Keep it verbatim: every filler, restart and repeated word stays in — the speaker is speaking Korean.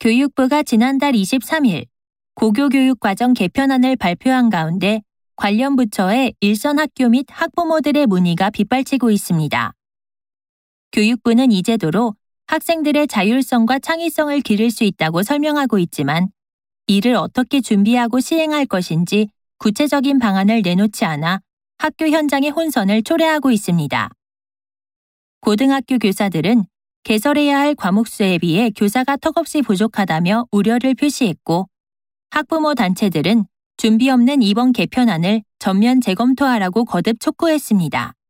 교육부가 지난달 이십삼 일 고교교육과정 개편안을 발표한 가운데 관련 부처의 일선 학교 및 학부모들의 문의가 빗발치고 있습니다. 교육부는 이 제도로 학생들의 자율성과 창의성을 기를 수 있다고 설명하고 있지만 이를 어떻게 준비하고 시행할 것인지 구체적인 방안을 내놓지 않아 학교 현장의 혼선을 초래하고 있습니다. 고등학교 교사들은 개설해야 할 과목 수에 비해 교사가 턱없이 부족하다며 우려를 표시했고, 학부모 단체들은 준비 없는 이번 개편안을 전면 재검토하라고 거듭 촉구했습니다.